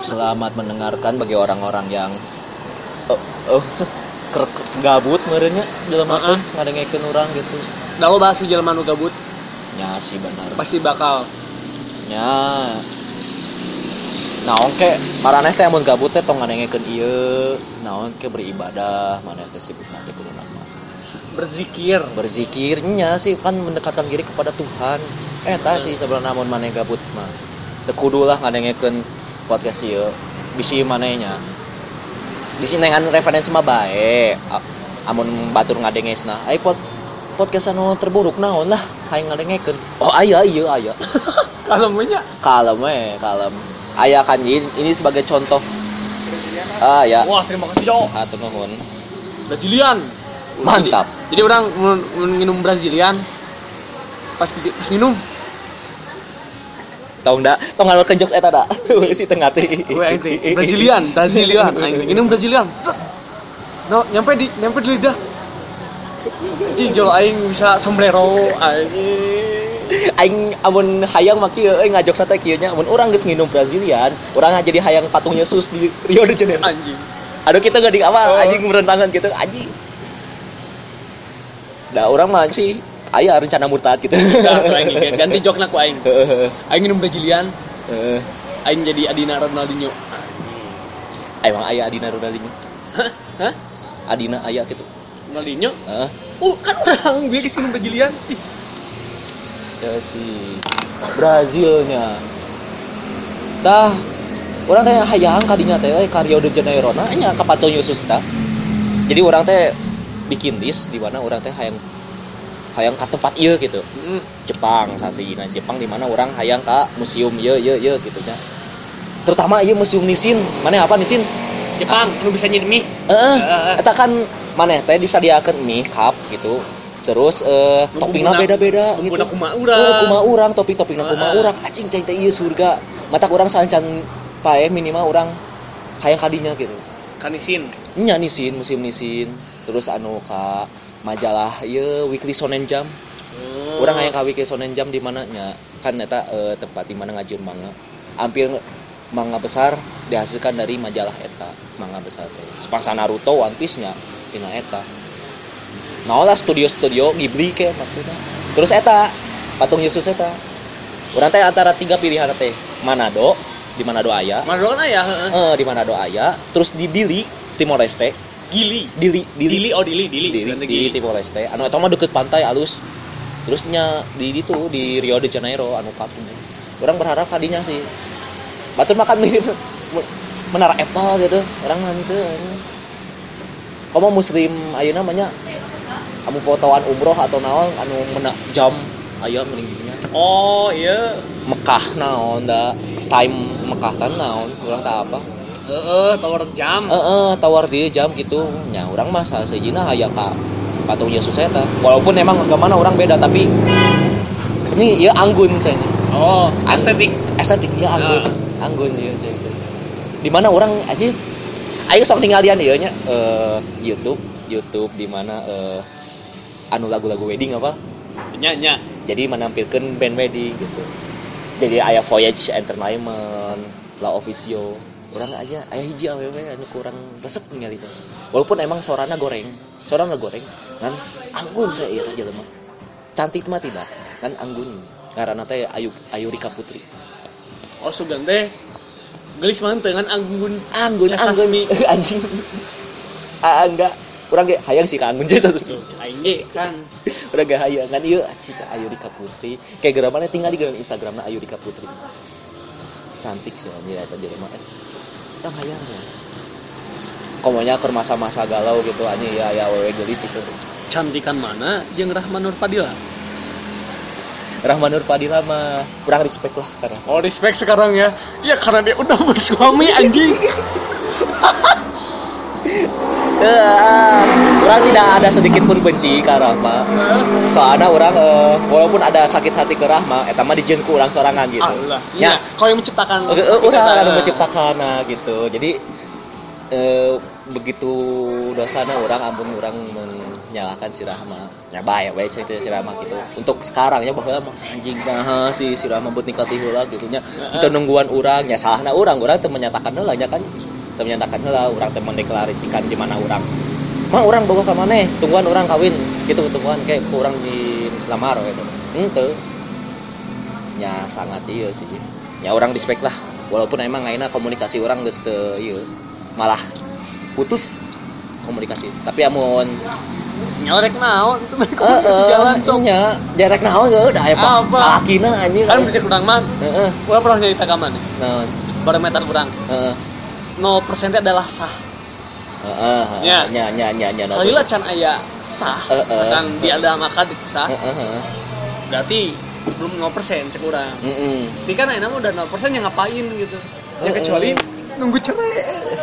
Selamat mendengarkan bagi orang-orang yang gabut merenya dalam apa ngadengekeun urang gitu. Da lo bahas jelema nu gabut. Nya sih benar. Pasti bakal. Nya. Naon ke maraneh teh mun gabut teh tong ngadengekeun ieu, naon ke beribadah, maneh teh sibuk nanti kudu nama. Berzikirnya sih kan mendekatkan diri kepada Tuhan. Eta sih sebenarnya mun maneh gabut mah. Teu kudu lah ngadengekeun podcast ieu. Bisi manehnya. Bisi nengan referensi mah bae. Amun batur ngadengesna. Ai podcast anu terburuk naon lah hayang ngadengekeun. Oh aya ieu aya. Kalem nya. Kalem. Aya kan ini sebagai contoh. Ya. Wah, terima kasih Jo. Hatur nuhun. Brazilian. Mantap. Jadi orang minum Brazilian pas minum Tong ngalurkeun jokes eta da. Si tengah teh. Gue ente Brazilian. Aing minum Brazilian. No, nyampe di lidah. Anjing jol aing bisa sombrero Aing amun hayang mah kieu ngajok teh kieu nya amun urang geus nginum Brazilian, urang jadi hayang patung Yesus di Rio de Janeiro. Anjing. Aduh kita gak di apa anjing merentangan gitu anjing. Da urang mah sih aya rencana murtad gitu. Dah aing ganti jokna ku aing. Aing minum Brazilian. Aing jadi Adina Ronaldinho. Emang aya Adina Ronaldinho? Hah? Adina aya gitu. Ronaldinho? Kan orang biasa minum Brazilian. Ya si Brazilnya. Tah, urang teh hayang kadinya teh ka Rio de Janeiro na nya ka patung Yesus tah. Jadi urang teh bikin list di mana urang teh hayang ka tempat ieu gitu. Jepang sasijina Jepang di mana urang hayang ka museum ieu gitu nya. Terutama ieu museum Nissin. Maneh apa Nissin? Jepang anu bisa nyeun mie. Eta kan maneh teh disadiakeun mie cup gitu. Terus toppingna beda-beda gitu. Kumaha urang topping-toppingna kumaha urang. Anjing cai teh ieu surga. Matak urang sancan pae minimal urang hayang kadinya gitu. Ka Nissin. Nya Nissin, museum Nissin. Terus anu ka majalah ieu Weekly Shonen Jump. Urang hayang ka Weekly Shonen Jump di mana nya kan eta tempat di mana ngajieun manga. Hampir manga besar dihasilkan dari majalah eta, manga besar teh. Sepasa Naruto, One Piece-nya dina eta. Nah lah studio Ghibli ke maksudnya. Terus eta patung Yesus eta. Urang teh antara 3 pilihan teh. Manado, di Manado aya. Manado kan aya, di Manado aya. Terus di Dili, Timor Leste. Dili Timor Leste. Anu eta mah deukeut pantai alus. Terusnya di itu di Rio de Janeiro anu patung. Urang berharap kadinya sih. Batur makan mirip menara Eiffel gitu. Urang henteu. Komo muslim ayeuna namanya anu fotoan umroh atau naon anu mena jam aya meningginya. Oh iya Mekah naon da time Mekah tan naon urang teh apa tower jam tower di jam gitu nya urang mah sasejina hayang ka patung Yesus eta walaupun emang agamana urang beda tapi ini ieu anggun cenah. Estetik ya anggun ieu cenah. Di mana urang aja aing sok tinggalian ieu nya YouTube di mana anu lagu-lagu wedding apa? Nya. Jadi menampilkan band wedding gitu. Jadi aya Voyage Entertainment, La Officio. Urang aja aya hiji awewe anu kurang resep ningali teh. Walaupun emang sorana goreng kan anggun teh ieu teh jelema. Cantik mah tidak, kan anggun. Ngaranna teh Ayu Rika Putri. Oh sugan teh gelis mah teu kan anggun anjing. Enggak urang ge hayang sih ka anggun teh aing ge kan urang ge hayang kan ieu Ayu Rika Putri kayak geura mah tinggal di Instagramna Ayu Rika Putri cantik sih anjir eta jelema tah hayang ya komonya keur masa-masa galau gitu anjing ya wewe geulis itu cantikan mana jeung Rahman Nur Fadila mah kurang respect lah karena respect sekarang ya karena dia udah bersuami anjing. Orang tidak ada sedikit pun benci ke Rahma. Soalnya orang walaupun ada sakit hati ke Rahma, eta mah dijieun ku urang sorangan gitu. Ya, kau yang menciptakan. Urang anu menciptakan gitu. Jadi begitu dosana orang ampun orang menyalahkan si Rahma nya bae cerita si Rahma gitu untuk sekarangnya bahwa anjing nah si Rahma buat nikah ti heula gitu nya itu nungguan orang nya salahna orang teu menyatakan heula nya kan teu menyatakan heula urang teu mendeklarasikan di mana orang mah orang boga ka maneh tungguan orang kawin gitu tungguan kayak urang di lamar gitu henteu nya sangat ieu sih nya orang respect lah walaupun emang ayeuna komunikasi orang geus teu ieu malah putus komunikasi tapi amun nyalek naon itu komunikasi jalan sok nya jarek naon ge udah aya salakina anjing kan bisa kurang mah heeh urang pernah nyarita ka mana naon barometer urang heeh 0% adalah sah nya salila can aya sah misalkan diadam akad sah berarti belum 0% cek urang tapi kan ayeuna mah udah 0% yang ngapain gitu ya kecuali nunggu cerai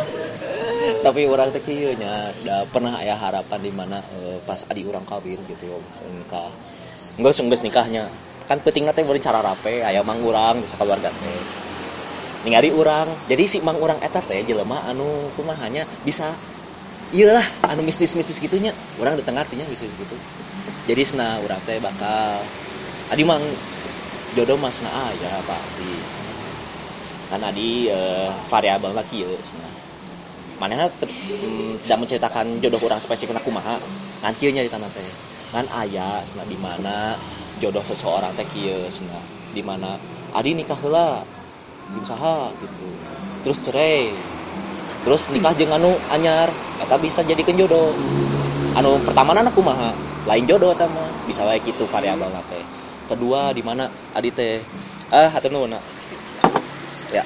tapi orang teh kieu nya da pernah aya harapan di mana pas adik urang kawin gitu nikah geus nikahnya kan pentingna teh beureun cara rape aya mang urang di sakaluarga teh ningali urang jadi si mang urang eta teh jelema anu kumahanya bisa ieu lah anu mistis-mistis gitunya urang di tengah artinya bisa gitu jadi sena urang teh bakal adi mang jodoh masna aya pasti kan adi variabel lah kieu sena manehna tidak menceritakan jodoh urang spesifik kumaha ngan kieu nya di tanah teh ngan aya sena di mana jodoh seseorang teh kieu sena di mana adi nikah heula jeung saha gitu terus cerai terus nikah jeung anu anyar eta bisa jadikeun jodoh anu pertamana kumaha lain jodoh eta mah bisa wae kitu variabelna teh kedua di mana adi teh hatur nuhun ya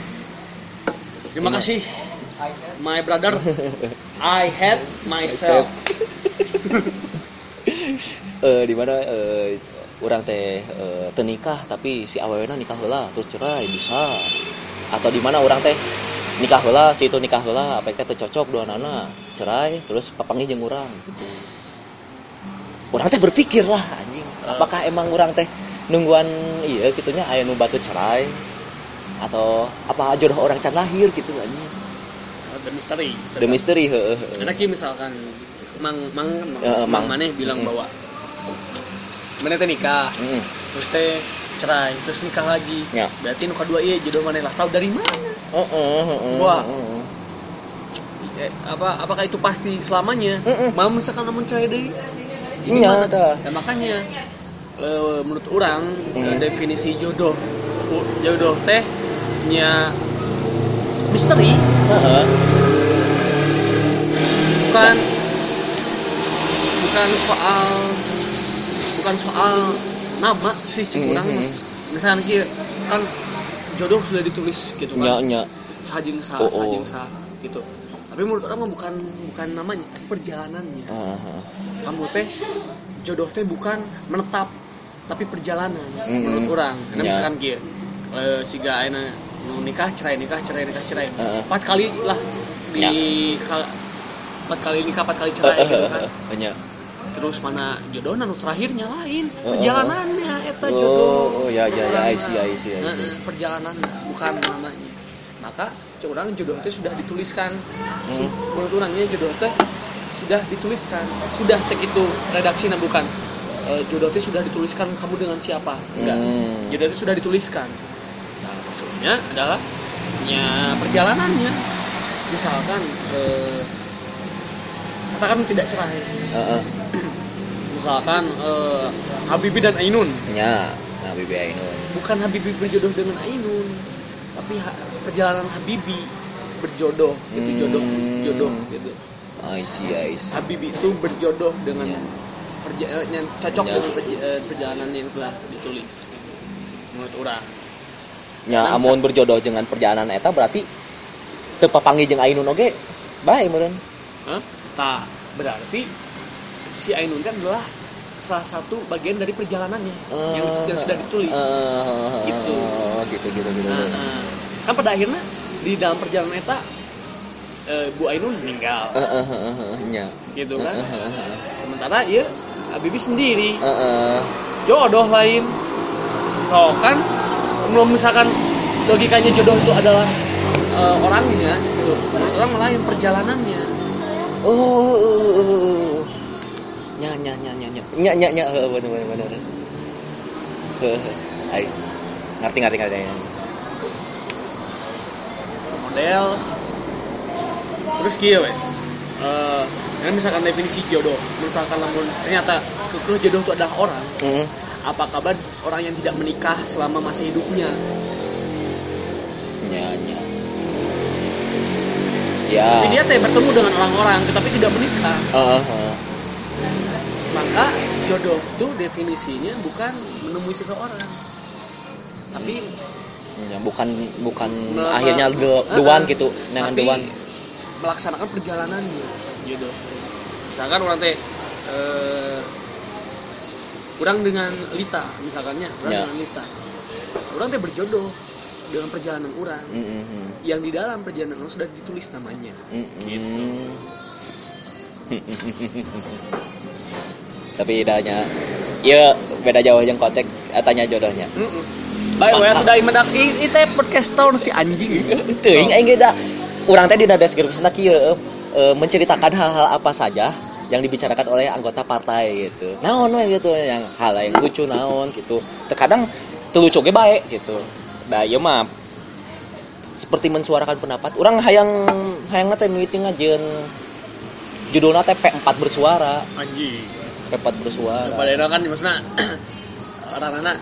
terima kasih my brother I hate myself di mana urang teh teu nikah tapi si awewena nikah heula terus cerai bisa atau di mana urang teh nikah heula si itu nikah heula apa teh teu cocok duanana cerai terus papanggih jeung urang gitu urang teh berpikir lah anjing apakah emang urang teh nungguan ieu kitunya aya nu batu cerai atau apa jodoh orang can lahir gitu anjing the misteri heeh karena misalkan mang maneh bilang bahwa maneh teh nikah terus teh cerai terus nikah lagi ya. Berarti nu kadua ieu jodoh maneh lah tahu dari mana wah apakah itu pasti selamanya mau misalkan namun cerai deui gimana ya, makanya menurut orang definisi jodoh teh nya misteri bukan soal nama sih cek urang mah misalkan kieu kan jodoh sudah ditulis gitu kan sajeng sah gitu tapi menurut orang mah bukan namanya perjalanannya kamu teh jodoh teh bukan menetap tapi perjalanan menurut orang karena misalkan kieu siga ayeuna nikah cerai 4 kali lah di 4 kali nikah 4 kali cerai gitu kan terus mana jodohna nu terakhirnya lain perjalanannya eta jodoh ya I see perjalanannya bukan namanya maka curang jodoh teh sudah dituliskan menurut orangnya jodoh teh sudah dituliskan sudah segitu redaksinya bukan jodoh teh sudah dituliskan kamu dengan siapa enggak jodoh teh sudah dituliskan nah maksudnya adalah ya perjalanannya misalkan katakan tidak cerai misalkan Habibie dan Ainun ya Habibie Ainun bukan Habibie berjodoh dengan Ainun tapi perjalanan Habibie berjodoh itu jodoh gitu I see Habibie itu berjodoh dengan yang cocok dengan perjalanan yang telah ditulis gitu. Menurut orang nya amun berjodoh dengan perjalanan eta berarti teu papanggih jeung Ainun oge bae meureun tah berarti si Ainun itu adalah salah satu bagian dari perjalanannya yang sudah ditulis gitu. Kan pada akhirnya di dalam perjalanan eta Bu Ainun meninggal gitu kan sementara ya Habibie sendiri jodoh lain so kan belum misalkan logikanya jodoh itu adalah orangnya gitu. Menurut orang lain perjalanannya. Nya bener. Hai. Ngerti. Model. Terus kieu we. Misalkan definisi jodoh, misalkan lamun ternyata kekeh jodoh itu adalah orang. Apa kabar orang yang tidak menikah selama masa hidupnya? Nya. Tapi dia bertemu dengan orang-orang tetapi tidak menikah. Maka jodoh itu definisinya bukan menemui seseorang, tapi ya, bukan akhirnya dewan gitu, dengan dewan melaksanakan perjalanannya jodoh. Misalkan orang teh kurang dengan Lita, misalkannya dengan Lita, orang teh berjodoh dengan perjalanan orang yang di dalam perjalanan orang sudah ditulis namanya. Gitu. Tapi bedanya ya beda jauh yang kotek tanya jodohnya. Baik, sudah mendak itu podcast tahun si anjing. Teuing aing ge da urang teh dina deskripsina kieu menceritakan hal-hal apa saja yang dibicarakan oleh anggota partai gitu. Naon we gitu yang hal yang lucu naon gitu. Terkadang teu lucu ge bae gitu. Da ieu mah seperti mensuarakan pendapat. Urang hayang teh meeting ajeun judulna teh P4 bersuara. Anjing. P4 bersuara. Padahal kan maksudna orang-orang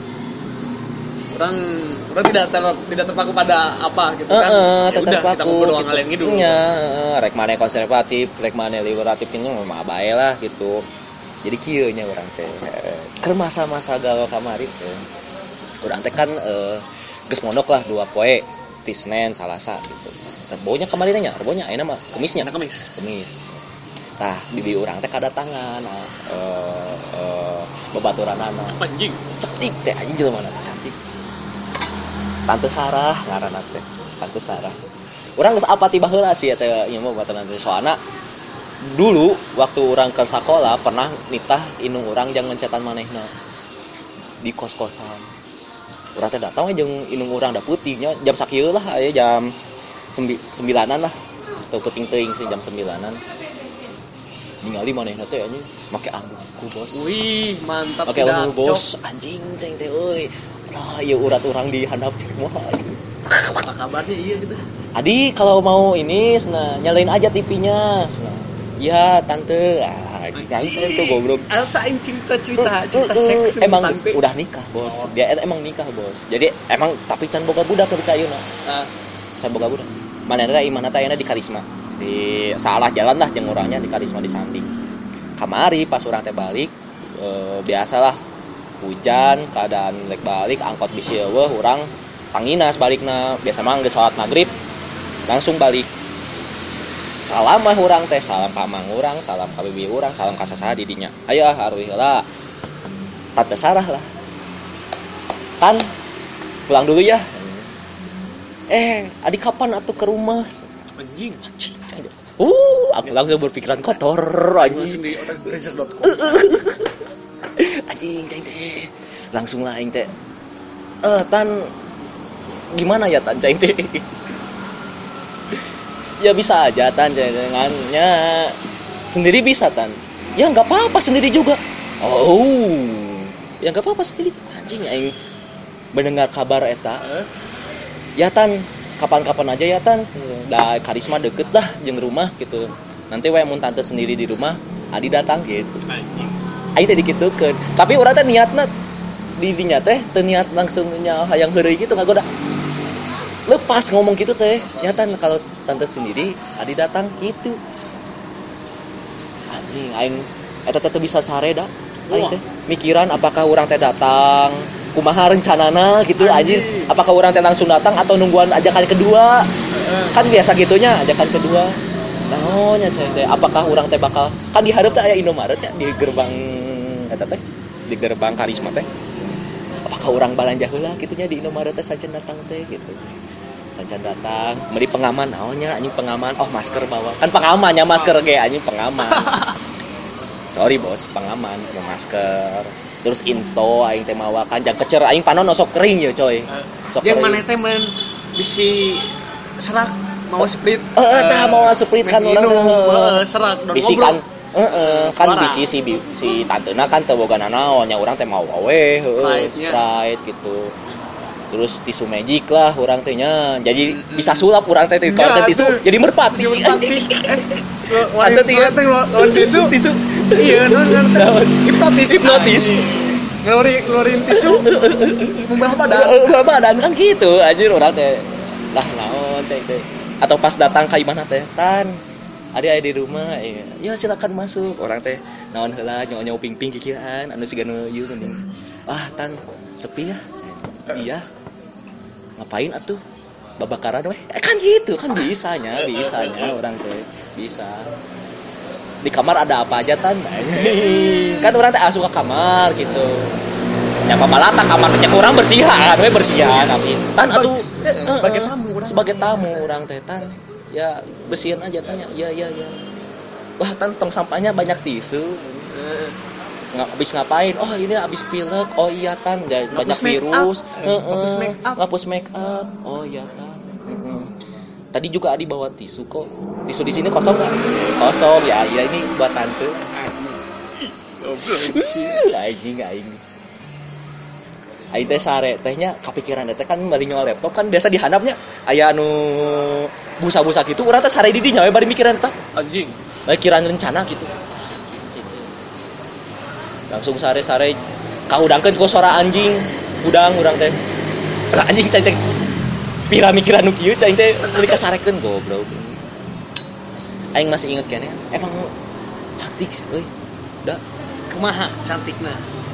tidak terpaku pada apa gitu kan. Ya udah kita ngobrol doang kalian gitu. Nya, rek maneh konservatif, rek maneh liberatif ini mah bae lah gitu. Jadi kieu nya urang teh. Keur masa-masa galau kamari teh. Urang teh kan geus mondok lah 2 poe, ti Senin, Salasa gitu. Rebonya kamari teh nya, rebonya ayeuna mah Kemisnya. Kemis. Tah bibi urang teh kadatangan babaturanana. Anjing. Cantik teh anjing jelema teh cantik. Tante Sarah ngaranna teh. Tante Sarah. Urang geus apa tiba heula sih teh ieu mah baturan teh soalna dulu waktu urang ke sekolah pernah nitah indung urang jeung ngencetan manehna di kos-kosan. Urang teh datang we jeung indung urang da putihnya jam sakieu lah aya jam 9-an lah. Teu penting teuing sih jam 9-an. Ningali manehna teh anjing make ambuku bos. Wih, mantap. Make ambuku bos anjing ceng teh euy. Lah ieu urat urang di handap cek moal. Apa kabarnya iya gitu? Adi kalau mau ini nyalain aja TV-nya. Iya tante. Itu goblok. Elsa cerita seks emang tante. Udah nikah bos. Dia emang nikah bos. Jadi emang tapi can boga budak ke ayeuna. Can boga budak. Manehna teh di Karisma. Di salah jalan lah jeung urangnya di Karisma di Sanding. Kamari pas urang teh balik biasalah hujan keadaan lek balik angkot bisi eueuh urang panginas balikna biasa mah geus salat maghrib langsung balik salam mah urang teh salam ka mang urang salam ka bibi urang salam ka sasaha di dinya aya aruy heula Tante Sarah lah kan pulang dulu ya adik kapan atuh ke rumah anjing aku langsung berpikiran kotor anjing di otak brezer.com anjing cai teh langsung lah aing teh tan gimana ya tan cai teh ya bisa aja tan dengannya sendiri bisa tan ya nggak apa-apa sendiri juga ya nggak apa-apa sendiri anjing aing mendengar kabar eta ya tan kapan-kapan aja ya tan da Karisma deket lah jeung rumah gitu nanti we mun tante sendiri di rumah Adi datang gitu aing teh dikitukeun tapi urang teh niatna di dinya teh teu niat langsung nya hayang heureuy gitu ngagoda lepas ngomong gitu teh nyatan kalau tante sendiri Adi datang gitu anjing aing eta teh bisa sare da aing teh mikiran apakah urang teh datang kumaha rencanana gitu anjing apakah urang teh langsung datang atau nungguan ajakan kedua kan biasa gitunya ajakan kedua naonnya teh apakah urang teh bakal kan di hareup teh aya Indomaret ya di gerbang eta teh di gerbang Karisma teh apakah urang balanja heula gitunya di Indomaret teh sajen datang teh gitu sajen datang meuli pengaman naonnya anjing pengaman masker bawa kan pengamannya masker ge anjing pengaman sorry bos pengaman mau masker terus insto aing teh mawa kan jang kecer aing panon sok kering ya coy sok jeung maneh teh men bisi serak mau split tah mau split kan orang serak dan bisi ngobrol kan bisi si tantena kan teu boga nanaon nya urang teh mau wawe Sprite gitu terus tisu magic lah urang teh nya jadi bisa sulap urang teh kalau teh tisu jadi merpati ada tiga teh lawan tisu iya naon hipnotis ngeluarin tisu membelah badan kan gitu anjir urang teh lah naon cai teh atau pas datang ka imana teh tan ada di rumah ya silakan masuk orang teh naon heula nyawa ping-ping kikieuan anu sigana ieu mending tan sepi ya iya ngapain atuh babakaran weh kan gitu kan bisanya orang teh bisa di kamar ada apa aja tan kan orang teh asup ke kamar gitu ya pamalata kamarnya kurang bersihan tapi tan atuh sebagai tamu orang teh tan ya bersihin aja tanya ya wah tan tong sampahnya banyak tisu habis ngapain ini habis pilek iya tan banyak virus ngapus make up iya tan tadi juga Adi bawa tisu kok tisu di sini kosong nggak kosong ya ini buat tante anjing aing teh sare tehnya kepikiran teh kan bari nyawa laptop kan biasa dihandapnya aya anu busa-busa gitu urang teh sare di dinya we bari mikiran eta anjing bari kiraan rencana gitu langsung sare-sare kahudangkeun ku suara anjing udang urang teh anjing cai teh pira mikiran nu kieu cai teh meuli kasarekeun goblok aing masih inget keneh emang cantik sih euy da kumaha cantikna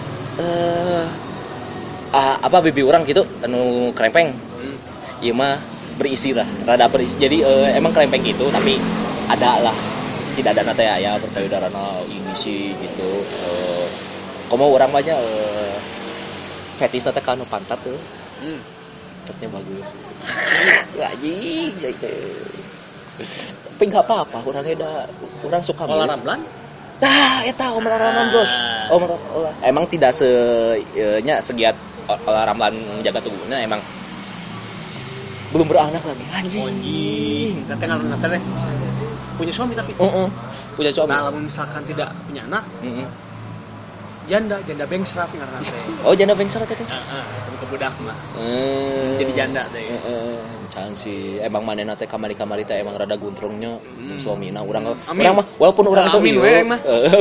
apa bibi orang gitu anu krempeng ieu mah berisi lah rada berisi jadi emang krempeng gitu tapi ada lah si dadana teh aya berpayudarana ini sih gitu komo urang mah nya fetish teh kanu pantat tuh pantatnya bagus anjing gitu tapi enggak apa-apa urang suka olahraga eta olahraga bos emang tidak segiat olahraga menjaga tubuhnya emang belum beranak lagi anjing nanti punya suami tapi punya suami nah kalau misalkan tidak punya anak janda bengsrat ngaranna teh janda bengsrat itu temen kebudak mah jadi janda teh can sih emang manehna teh kamari-kamari teh emang rada guntrungnya suamina urang mah walaupun urang teh ieu mah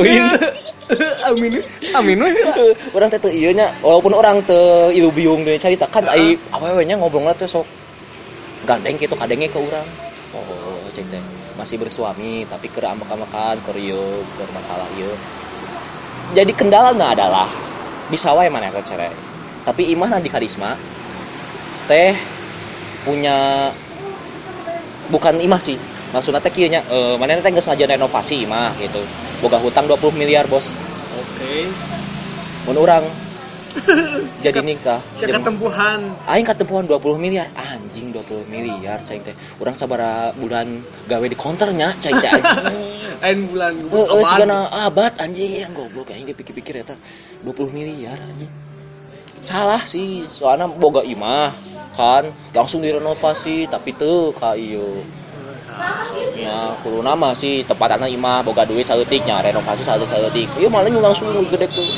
amin we urang teh teu ieu nya walaupun urang teu ilu biung deui carita kan ai awewe nya ngobrolna teh sok gandeng kitu kadenge ke urang cek teh masih bersuami tapi keur amak-amakan keur ieu keur masalah ieu jadi kendalanya adalah bisa wae maneh teh cerai tapi imah di karisma teh punya bukan imah sih maksudnya teh kieu nya manehna teh geus ngajian renovasi imah gitu boga hutang 20 miliar bos mun urang jadi nikah sia katempuhan aing katempuhan 20 miliar anjing 20 miliar cai teh urang sabaraha bulan gawe di counternya cai teh anjing lain bulan sigana abad anjing goblok aing dipikir-pikir eta 20 miliar anjing salah sih soalnya boga imah kan langsung direnovasi tapi teu ka ieu nah kudu nama sih tempatna imah boga duit saeutik nya renovasi saeutik ieu malah langsung gede tuh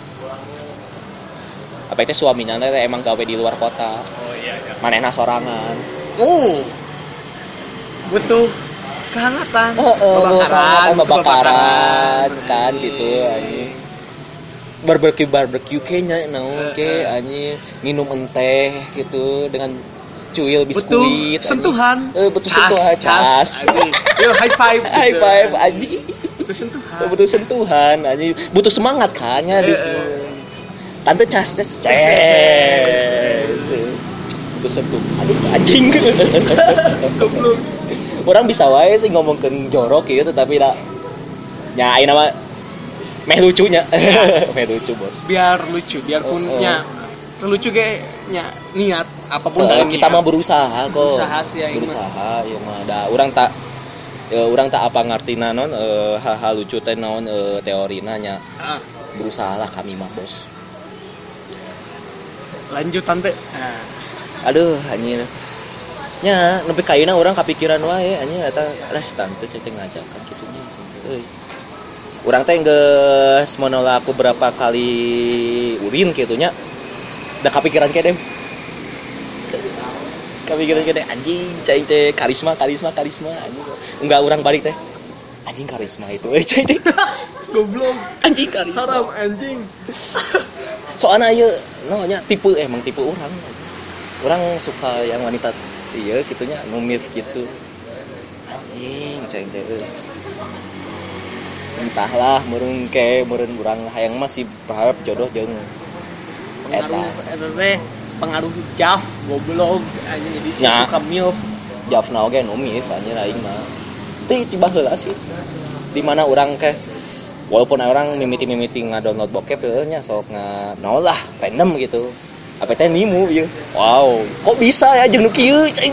apa itu suaminya emang gawe di luar kota manehna sorangan butuh kehangatan babakaran kan gitu anjing barbecue kayaknya naon ke anjing minum teh gitu dengan cuil biskuit butuh sentuhan butuh sentuhan cas yo high five anjing butuh sentuhan anjing butuh semangat kan nya di sini tante cas butuh sentuh aduh anjing orang bisa wae sih ngomongkeun jorok gitu tapi da nya ayeuna mah meh lucunya meh lucu bos biar lucu biarpun nya terlucu ge nya niat apapun kita mah berusaha kok berusaha ieu mah da urang tak apa ngartina naon hal-hal lucu teh naon teorina nya berusaha lah kami mah bos lanjut tante aduh anjir nya nepi ka ayeuna urang kapikiran wae anjing eta restan teh cek ngajakan kitu nya euy. Urang teh geus menolak beberapa kali urin kitu nya. Da kapikiran kene. Kapikiran kene anjing cai teh karisma anjing. Enggak urang balik teh. Anjing karisma itu cai teh. Goblok. Anjing karisma. Haram anjing. Soalnya ieu nya tipe emang tipe urang. Urang suka yang wanita iya kitunya numif gitu. Anjing cai teh. Entahlah meureun urang hayang masih berharap jodoh jeung pengaruh eta teh pengaruh jaf goblok anjing jadi si suka milf jafna oge nu milf anjing aing mah teh tiba heula sih di mana urang teh walaupun orang mimiti ngadownload bokep nya sok naon lah random gitu apa teh nimu ieu wow kok bisa ya jeung nu kieu cai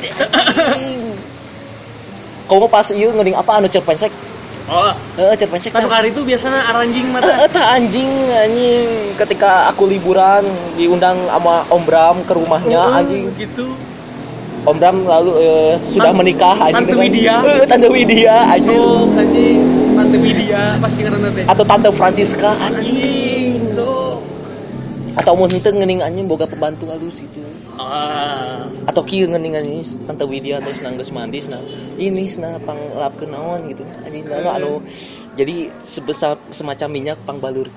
kok pas ieu ngeuning apa anu cerpensek. Oh, cerpensek kan kali itu biasanya anjing mata. Eta anjing ketika aku liburan diundang sama Om Bram ke rumahnya anjing. Gitu. Om Bram lalu sudah menikah anjing. Tante Widya. Tante Widya anjing. So, anjing Tante Widya pasti ngaranna teh. Atau Tante Francisca anjing. So. Atau mun henteu ngeuning anjing boga pembantu halus itu. Atau kieu ngeuning anjing Tante Widya teh senang geus mandi senang ini senang panglapkeun naon gitu anjing anu jadi sebesar semacam minyak pangbalur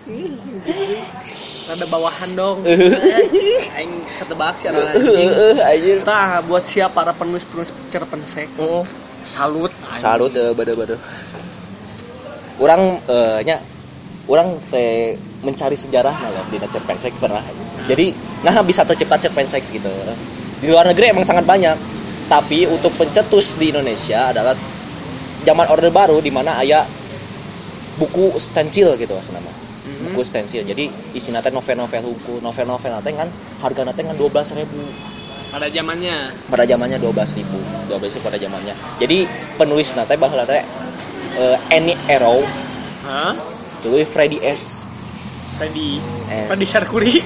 rada bawahan dong aing ketebak cara anjing tah buat siap para penulis cerpensek salut bade urang urang teh mencari sejarah lah di cerpensek pernah jadi bisa tercipta cerpensek gitu di luar negeri emang sangat banyak tapi untuk pencetus di Indonesia adalah zaman Orde Baru di mana aya buku stensil gitu asna mah buku stensil jadi isina teh novel-novel hukum novel-novel teh kan hargana teh kan 12.000 pada zamannya 12.000 pada zamannya jadi penulisna teh baheula teh Annie Arrow tulis Freddy Sarkuri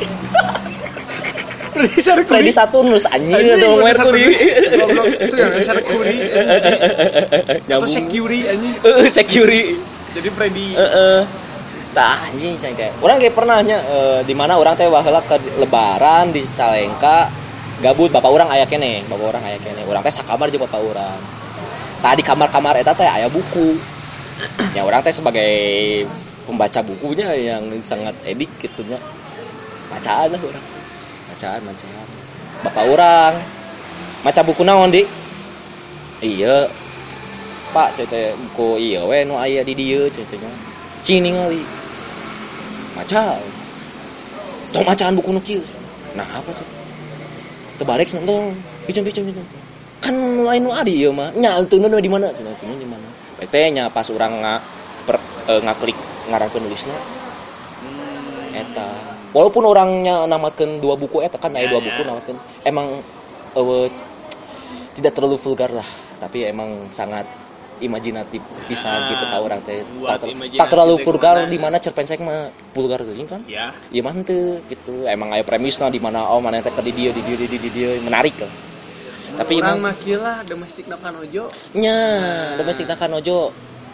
Freddy Saturnus anjing atau Mercury goblok itu yang Sarkuri atau Security jadi Freddy tah anjing kayak urang kayak pernahnya di mana urang teh baheula ke lebaran di Calengka gabut bapak urang aya keneh urang teh sakamar jeung bapak urang tah di kamar-kamar eta teh aya buku ya urang teh sebagai pembaca bukunya yang sangat edik gitu nya bacaan lah urang bacaan bapak urang maca buku naon di iya pak cerita buku iya we nu aya di dieu ceritanya cing ningali maca tong macaan buku nu kieu nah apa sih teu barek tong picen kan lain nu adi ieu mah nya teuneun di mana teuneun di mana teh nya pas urang ngaklik ngaran penulisna eta walaupun orangnya namatkeun 2 buku eta kan aya 2 buku namatkeun emang tidak terlalu vulgar lah tapi emang sangat imajinatif pisan gitu ka urang teh tak terlalu vulgar di mana cerpensek mah vulgar teuing kan iya mah teu gitu emang aya premisna di mana mana teh di dieu menarik kan tapi urang mah kieu lah domestik nakanojo nya domestik nakanojo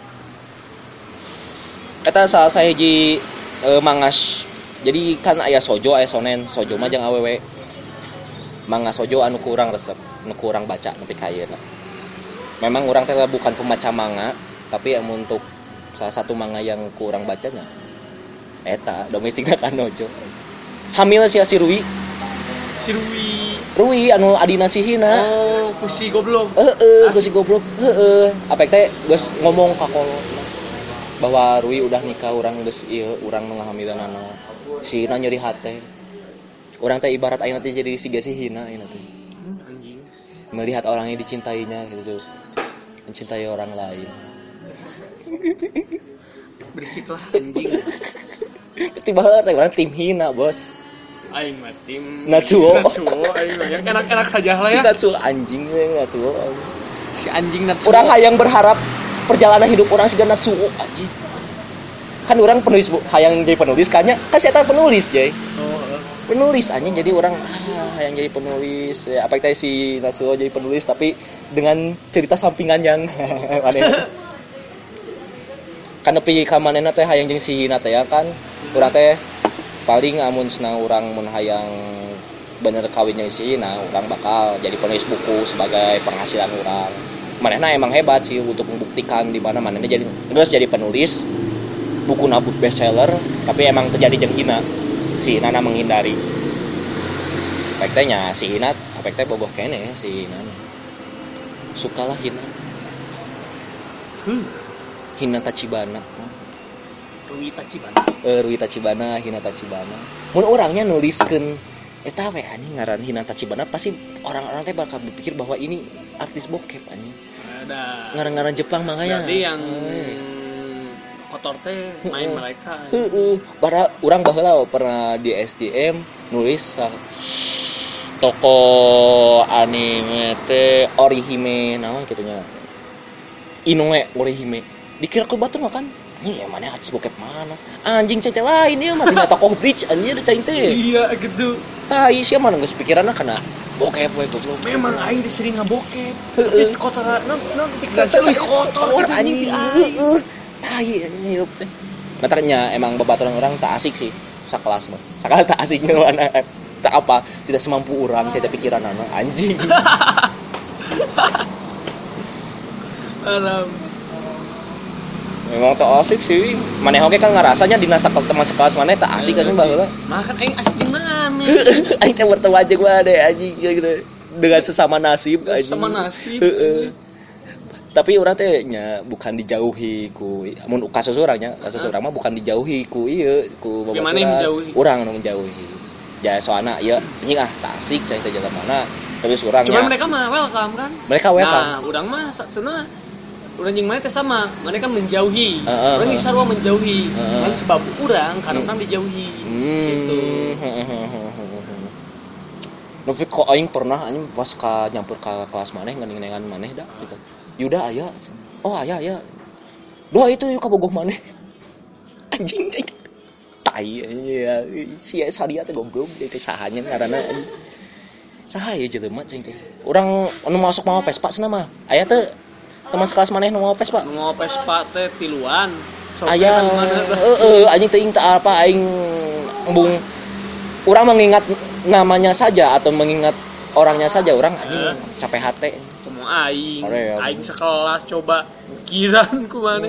eta salah sahiji mangas jadi kan aya sojo aya sonen sojo mah jeung awewe manga sojo anu kurang resep anu kurang baca nepi ka ayeuna memang urang teh bukan pembaca manga tapi yang untuk salah satu manga yang kurang bacanya eta domestik nakanojo hamil si Rui anu adina sihina kusi goblok apek teh geus ngomong ka kolot bahwa Rui udah nikah urang geus ieu urang nu ngahamilanana sihina nyeri hate urang teh ibarat ayeuna teh jadi siga sihina ayeuna teh anjing melihat orang yang dicintainya gitu mencintai orang lain bersiklah anjing tiba-tiba urang tim hina bos aing mah tim Natsuo aing mah yang enak-enak saja lah ya si Natsuo anjing Natsuo si anjing Natsuo urang hayang berharap perjalanan hidup orang siga Natsuo anjing kan orang penulis hayang jadi penulis kayaknya kan saya penulis jay penulis aja, jadi orang yang jadi penulis ya, apa kita si Nasuho jadi penulis tapi dengan cerita sampingan yang aneh. Kan nepi ka manehna teh hayang jeung si Hina teh ya kan. Urang teh paling amun senang urang mun hayang bener kawinnya si Hina, urang bakal jadi penulis buku sebagai penghasilan urang. Manehna emang hebat sih untuk membuktikan di mana manehna jadi geus jadi penulis buku nabut bestseller, tapi emang terjadi jeung Hina. Si Hina menghindari. Efeknya si Hina, efeknya boboh kene si Hina. Sukalah Hina. Hina Tachibana. Rui Tachibana, Hina Tachibana. Mun orangnya nuliskeun eta we anjing ngaran Hina Tachibana, pasti orang-orang teh bakal berpikir bahwa ini artis bokep anjing. Ada. Ngaran-ngaran Jepang makanya. Berarti yang kotor teh main mereka. Para urang baheula pernah di STM nulis toko anime teh Orihime naon kitu nya. Inoue Orihime. Dikira ku batu kan? Anjing ya mana artis bokep mana? Anjing cai teh lain ieu mah tina tokoh Bleach anjing cai teh. Iya gitu. Tai sia mah geus pikiranna kana bokep we goblok. Memang aing disering ngabokep. Tapi kotoran non pikiran seuih kotor anjing. Tai hirup teh. Matanya emang babaturan orang tak asik sih. Sakelas mah. Sakelas tak asik mana. Tak apa, tidak semampu orang cai teh pikiran anak anjing. Alam. Memang tak asik sih. Maneh oge kan ngarasanya dina teman sekelas maneh tak asik kan baheula. Makan aing asik di mana? Aing teh bertemu aja gua deh anjing gitu. Dengan sesama nasib anjing. Sesama nasib. Tapi urang teh nya bukan dijauhi ku mun kasus urangnya, kasus urang mah bukan dijauhi ku ieu ku babaturan. Urang nu menjauhi. Ya soalna ieu anjing tak asik cai teh jalan mana. Terus urangnya. Cuma mereka mah welcome kan? Mereka welcome. Nah, urang mah saksuna urang jeung maneh teh sama, maneh kan menjauhi. Urang geus sarua menjauhi. Kan sebab urang kan orang dijauhi. Gitu. Tapi kok aing pernah anjing pas ka nyampur ka kelas maneh ngening-nengan maneh dah gitu. Yuda aya. Oh aya. Doa itu yuk kabogoh maneh. Anjing cai. Tai ya. Si sadia teh goblok teh sahanya ngaranna anjing. Saha ya jelema cai teh. Urang anu masuk mau Vespa cenah mah. Aya teh teman sekelas maneh nu mau Vespa. Nu mau Vespa teh tiluan. Aya. Anjing teh tak apa aing embung urang mengingat namanya saja atau mengingat orangnya saja urang anjing capek hate. Aing sekelas coba kiran ku maneh.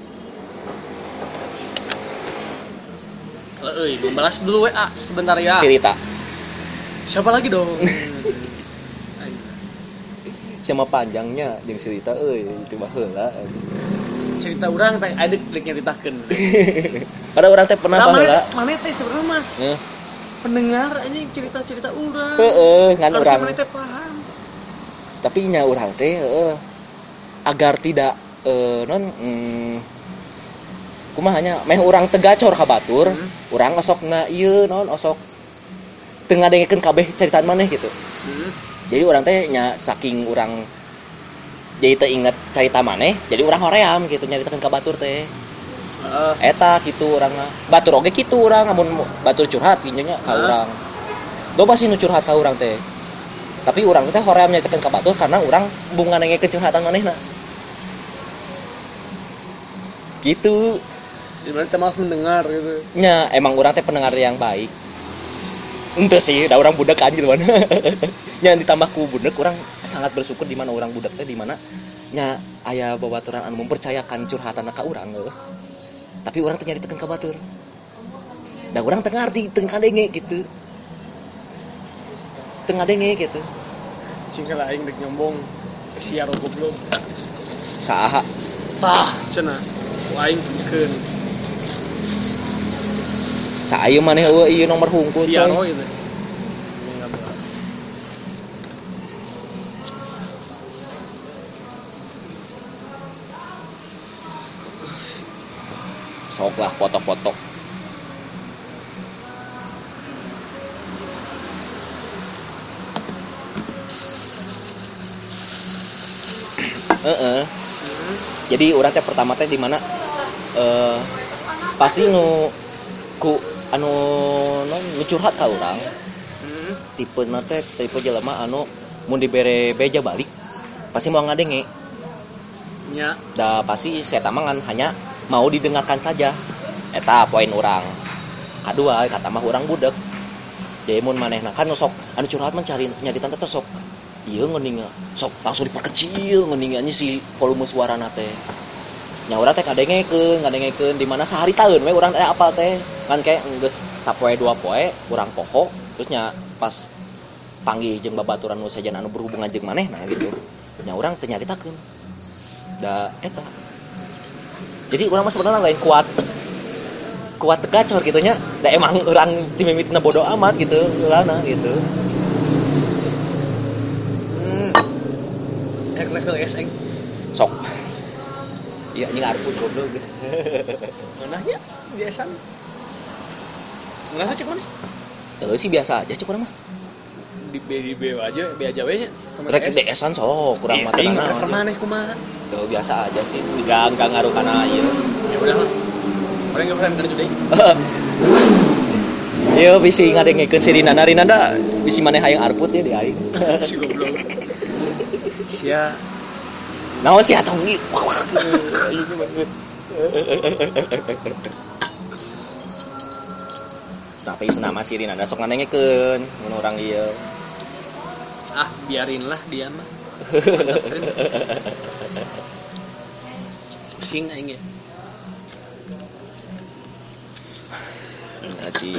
Membalas dulu WA sebentar ya. Cerita. Siapa lagi dong? Sama panjangnya jeung cerita itu baheula. Cerita urang teh ade rek nyaritakeun. Pada urang teh pernah baheula. Maneh teh sebenarnya mah pendengar anjing cerita-cerita urang. Ngan urang. Maneh teh paham. Tapi nya urang teh agar tidak kumahanya meh urang teu gacor ka batur, urang osokna ieu naon osok teu ngadengekeun kabeh caritaan maneh gitu. Jadi urang teh nya saking urang jadi teu inget carita maneh, jadi urang hoream gitu nyaritakeun ka batur teh. Eta kitu urang mah. Batur oge kitu urang amun batur curhat kieu nya ka urang. Loba sih nu curhat ka urang teh. Tapi urang teh hoream nyaritakeun ka batur karena urang bung nganengekeun curhatan manehna. Gitu. Dimana teh malas mendengar gitu. Nya emang urang teh pendengar yang baik. Ente sih, da urang budak anjir mana. Nya ditambah ku budak urang sangat bersyukur di mana urang budak teh di mana nya aya babaturan anu mempercayakan curhatan ka urang. Tapi urang teh nyaritakeun ka batur. Da urang teu ngarti, teu kadenge gitu. Tengah denge gitu. Singkel aing dek nyombong siar goblok. Saha? Tah cenah. Aing pikeun. Sa ayeuna maneh ieu nomor hungkul coy. Siar itu. Sok lah foto-foto. Jadi urang teh pertama teh di mana pasti nu ku anu non curhat ka urang. Tipe nate tipe jelema anu mun dibere beja balik pasti mau ngadenge. Nya. Da pasti saya tamangan hanya mau didengarkan saja. Eta poin urang. Kadua kata mah urang budek. Jadi mun manehna kan sok anu curhat mah cari nyaritan teh sok. Ieu ngeuning sok langsung diperkecil ngeuningannya si volume suarana teh. Nya urang teh ngadengekeun di mana sehari taeun we urang teh apal teh. Kan kayak geus sapoe dua poe urang poho terus nya pas panggih jeung babaturan nu sajan anu berhubungan jeung manehna gitu. Nya urang teh nyaritakeun. Da eta. Jadi urang mah sebenarnya lain kuat gacor gitu nya. Da emang urang timimitina bodo amat gitu urana gitu. Level SN Sok. Iya anjing arpun goblok. Manahnya biasa. Ngerasa cek mana? Sih biasa aja cek urang mah. Di B aja, B aja we nya. Rek DS-an sok kurang mah teh level maneh kumaha? Tuh biasa aja sih. Enggak ngaruh kana ieu. Ya udahlah. Orang yang friend kerja deh. Yo bisi ngadengekeun si Rinanda bisi maneh hayang arput ya di aing. Si goblok. Sia. Naon sih atong ieu? Ini bagus. Tapi senama si Rinanda sok ngadengekeun mun urang ieu. Ah, biarinlah dia mah. Pusing aing ya. Enggak sih.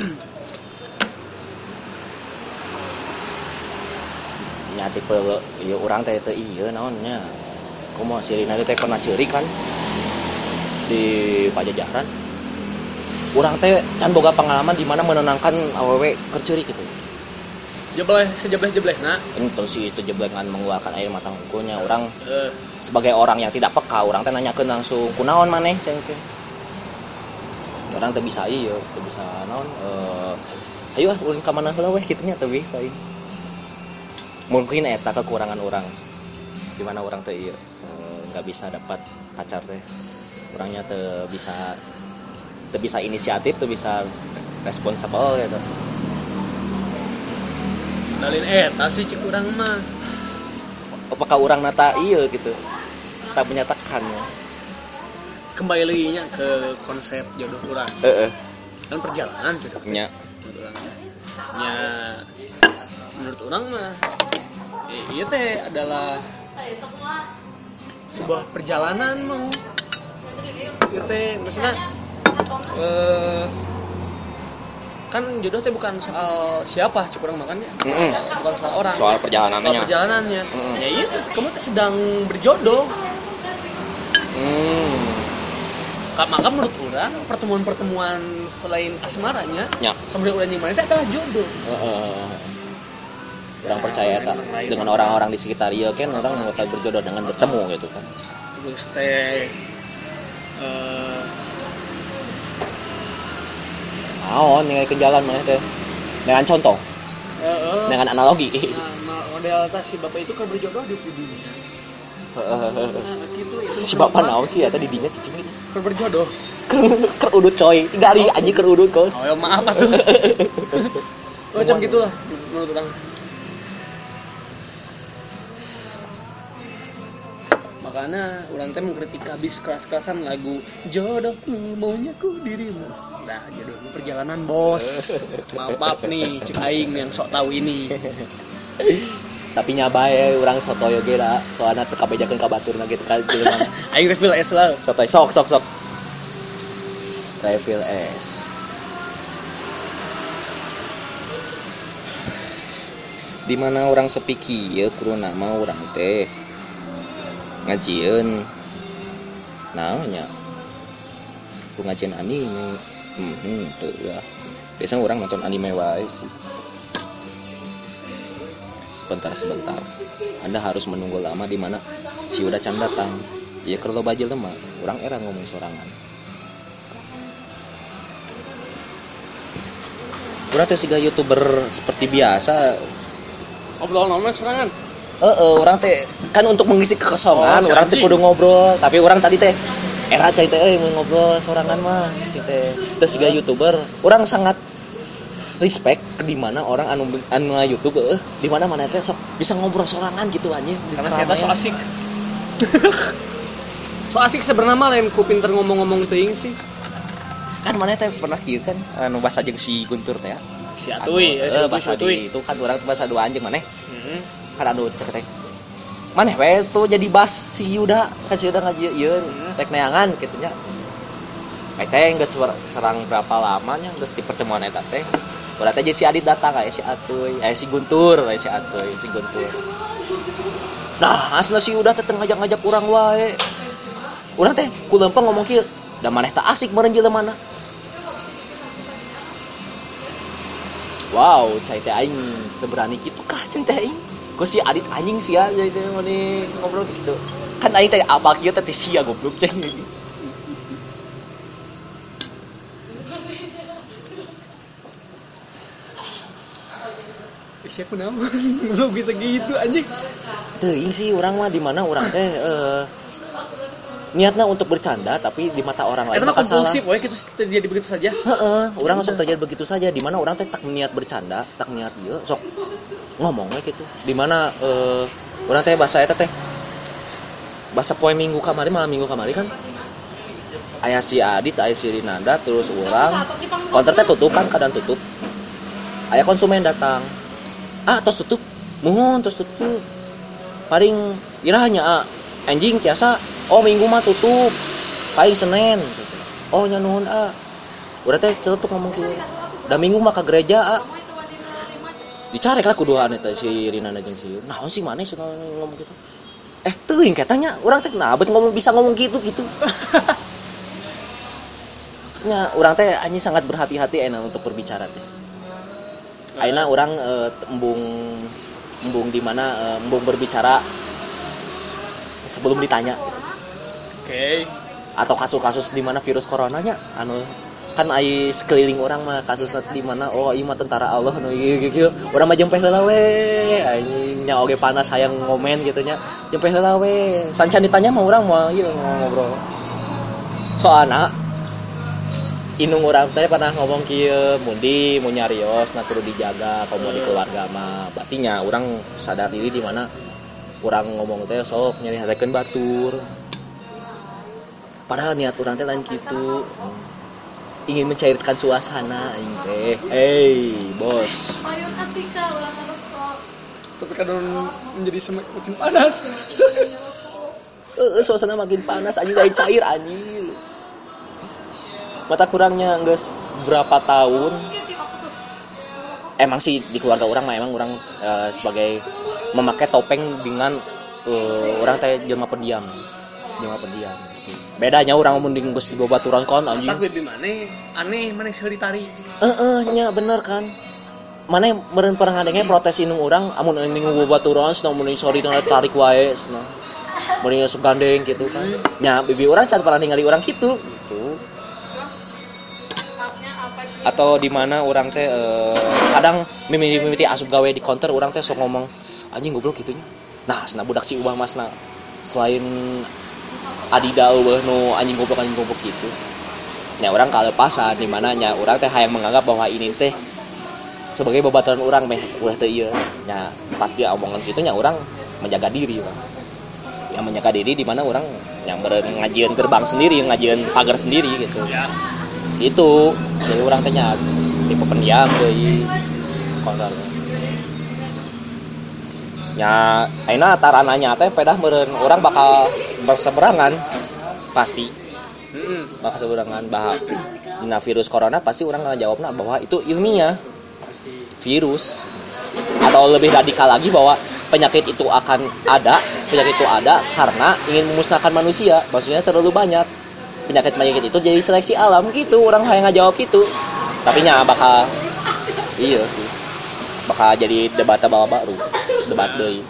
Nya tipe ieu urang teh teu ieu naonnya. Kumaha si Rinanda teh pernah ceuri kan di Pajajaran. Urang teh can boga pengalaman di mana menenangkan awewe keur ceuri gitu. Sejebleh-jeblehna. Itu sih itu jeblengan mengeluarkan air mata hungkulnya. Orang sebagai orang yang tidak peka, orang teh nanyakeun langsung kunaon maneh ceng teh. Orang teh bisa ieu, teh bisa naon ayo ulin ka mana heula weh kitu nya teh bisa ieu. Mungkin eta kekurangan orang. Di mana orang teh ieu enggak bisa dapat pacar teh. Orangnya teh bisa inisiatif, teh bisa responsibel gitu. Dalin eta sih cek urang mah. Apakah orang nata iya gitu tak menyatakan kembali lagi nya ke konsep jodoh urang kan perjalanan jodohnya nya menurut orang mah iya teh adalah sebuah perjalanan mah iya teh maksudnya kan jodoh teh bukan soal siapa cek urang makannya bukan soal orang soal perjalanannya ya iya tuh kamu tuh sedang berjodoh maka menurut orang pertemuan selain asmaranya sambil urang yang mana itu adalah jodoh orang percaya tak dengan orang-orang di sekitar dia kan orang bakal berjodoh dengan bertemu gitu kan terus teh ningali ke jalan mana teh dengan contoh dengan analogi model tas si bapak itu kan berjodoh di dunia gitu, si bapak naon sih ya tadi dinya cicing ini berjodoh kerudut coy dari anjing kerudut kos oh ya maaf atuh macam gitulah menurut orang makanya orang teh mengkritik habis keras-kerasan lagu jodohku maunya ku dirimu nah jodohku perjalanan bos maaf nih cik aing yang sok tahu ini tapi nyabae urang sotoy ge lah soalna teu kabejakeun ka baturna gitu kan aing refill es lah sotoy sok refill es di mana orang sepi kieu kudu nama urang teh ngajieun naonnya ngajieun anime teu ya biasanya orang nonton anime wae sih sebentar Anda harus menunggu lama di mana si udah can datang ya kalau bajil mah orang era ngomong sorangan urang teh siga YouTuber seperti biasa ngobrol normal sorangan orang teh kan untuk mengisi kekosongan orang teh kudu ngobrol tapi orang tadi teh era cai teh ngobrol sorangan mah cai teh siga YouTuber orang sangat respect di mana orang anu YouTube di mana teh sok bisa ngobrol sorangan gitu anjing karena saya so asik. So asik sebenarnya mah lain ku pinter ngomong-ngomong teuing sih. Kan mana teh pernah kieu kan anu bahasa jeung si Guntur teh ya. Si Atuy, bahasa itu kan orang bahasa dua anjing maneh. Kan anu cek teh. Maneh we tuh jadi bas si Yuda, kan si Yuda ngajieun rek neangan kitu nya. Teh geus serang berapa lamanya geus di pertemuan eta teh. Udah teh si Adit datang kayak si Atuy, si Guntur, kayak si Atuy, si Guntur. Nah, asna si Yuda teh ngajak-ngajak urang wae. Urang teh ku lempeng ngomong kieu, da maneh teh asik meureun jelema mana. Wow, cai teh aing seberani kitu kah cai teh aing? Ku si Adit anjing sia cai teh mani ngobrol kitu. Kan aing teh apa kieu teh sia goblok cai. Siapa nama? Belum bisa gitu anjing. Teuing sih urang mah di mana urang teh niatnya untuk bercanda tapi di mata orang lain maka salah. Itu mah kompulsif, gitu terjadi begitu saja. Urang sok terjadi begitu saja di mana urang teh tak niat bercanda, tak niat ieu sok ngomong we gitu. Di mana urang teh bahasa eta teh bahasa poe minggu kamari malam minggu kamari kan aya si Adit, aya si Rinanda terus urang konter teh tutup kan kadang tutup. Aya konsumen datang. Tos tutup. Muhun tos tutup. Paling irahnya anjing tiasa minggu mah tutup. Paling Senin gitu. Nya nuhun Urang teh celutuk ngomong kieu. Da minggu mah ka gereja dicarek lah kuduaan eta si Rinana jeung si. Naon sih maneh ngomong kitu. Teuing katanya urang teh nabeut ngomong bisa ngomong gitu. Nya urang teh anjing sangat berhati-hati untuk berbicara teh. Ayeuna urang embung di mana embung berbicara sebelum ditanya gitu. Oke. Atau kasus-kasus di mana virus coronanya anu kan ai sekeliling orang mah kasusna di mana ieu mah tentara Allah anu ieu urang mah jempeh heula we anjing nya oge panas hayang ngomen gitu nya jempeh heula we sancan ditanya mah urang mah ieu ngobrol soalna inung urang teh pernah ngomong kieu mundi mun nyarios na kudu dijaga kalau di keluarga mah batinya urang sadar diri di mana urang ngomong teh sok nyari hatekeun batur padahal niat urang teh lain kitu ingin mencairkan suasana aing teh bos tapi kadang menjadi semakin panas. Suasana makin panas anjing lain cair anjing mata kurangnya geus berapa tahun emang sih di keluarga orang mah emang orang sebagai memakai topeng dengan orang teh jelema pendiam gitu. Bedanya orang mun geus di babaturan kon anjing tak bebe maneh aneh maneh seuri tari nya bener kan maneh meureun pernah ngadenge protes inung urang amun ning babaturan cenah mun sorry teh tarik wae cenah mun sok gandeng gitu kan nya bibi urang can pernah ningali urang gitu atau di mana orang teh kadang mimiti asup gawe di counter orang teh sok ngomong anjing goblok gitunya. Nah, cenah budak si ubah masna selain adida eueuh nu anjing goblok gitu. Nya orang kalepasan di mana nya orang teh hayang menganggap bahwa ini teh sebagai babaturan orang meh ulah teh ieu. Nya pas dia omongan kitu nya orang menjaga diri urang. Yang menjaga diri di mana orang yang ngajieun gerbang sendiri, ngajieun pagar sendiri gitu. Ya. Itu jadi orang tanya tipe pendiam deui kontor nya ayeuna tarananya teh pedah meureun orang bakal berseberangan pasti bakal seberangan bahwa dina virus corona pasti orang ngajawabna bahwa itu ilmiah virus atau lebih radikal lagi bahwa penyakit itu ada karena ingin memusnahkan manusia maksudnya terlalu banyak penyakit itu jadi seleksi alam gitu orang hayang ngajawab gitu tapi nya bakal iya sih bakal jadi debat deui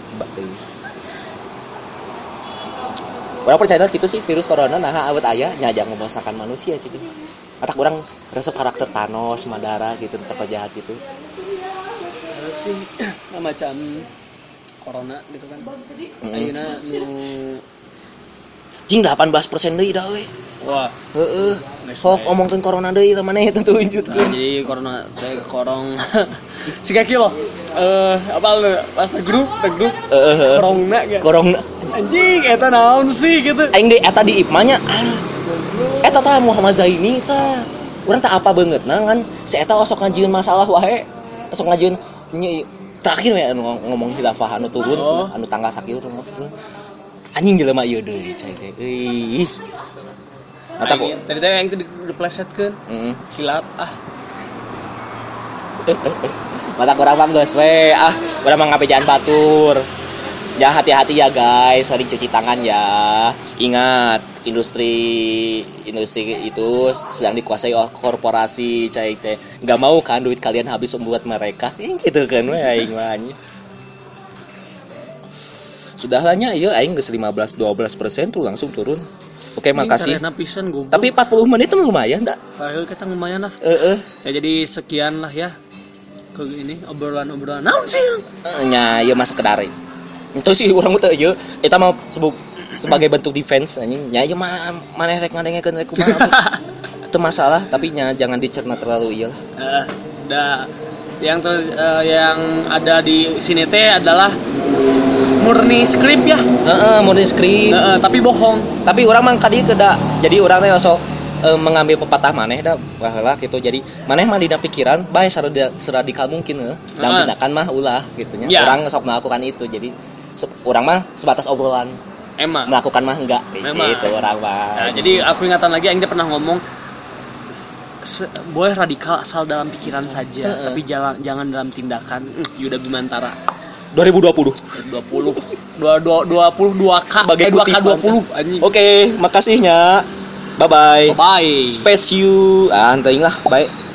orang percaya gitu sih virus corona nah awet aya nya jangan memusnahkan manusia gitu atak orang resep karakter Thanos Madara gitu tetap jahat gitu sih macam corona gitu kan ayeuna nu jing 18% deui da we Wah. Heeh. Sok omongkeun corona deui teh maneh teh tunjutkeun. Jadi corona teh korong si kaki lo. Apa lu pas tegrup korongna ge. Corona. Anjing eta naon sih gitu. Aing deui eta di IPMA nya. Eta tah Muhammad Zaini tah. Urang teh apa beungeutna kan si eta osok ngajieun masalah wae. Osok ngajieun terakhir we anu ngomong khilafah anu turun anu tanggal sakieu anjing jelema ieu deui cai teh euy mata kok tadi teh yang teh diplesetkeun hilaf mata kurang paham geus we urang mah ngapejaan batur ya hati-hati ya guys sering cuci tangan ya ingat industri itu sedang dikuasai oleh korporasi cai teh nggak mau kan duit kalian habis membuat mereka gitu kan we aing mah sudah lahnya ieu aing geus 15-12% tuh langsung turun. Oke, makasih. Tapi 40 menit itu lumayan tak? Kita lumayan lah. Ya jadi sekian lah ya. Ke ini obrolan-obrolan. Naon sih? Nya ieu mah sekedar. Itu sih urang teh ieu eta mah sebagai bentuk defense anjing. Nya ieu mah maneh rek ngadengekeun rek kumaha. Itu masalah, tapi nya jangan dicerna terlalu ieu lah. Yang ada di sini teh adalah murni skrip ya. Murni skrip. Tapi bohong. Tapi urang mah kadi kedah. Jadi urang teh sok mengambil pepatah maneh da baheula gitu. Jadi maneh mah dina pikiran bae saradikal mungkin dalam tindakan mah ulah gitu nya. Yeah. Urang sok melakukan itu. Jadi urang mah sebatas obrolan. Emang melakukan mah enggak gitu urang mah. Nah, jadi aku ingatan lagi aing pernah ngomong boleh radikal asal dalam pikiran saja, tapi jangan dalam tindakan. Yuda Bimantara 2020 22K sebagai 2K20 anjing. Oke, makasihnya. Bye bye. Bye. Space you. Teuing lah, bye.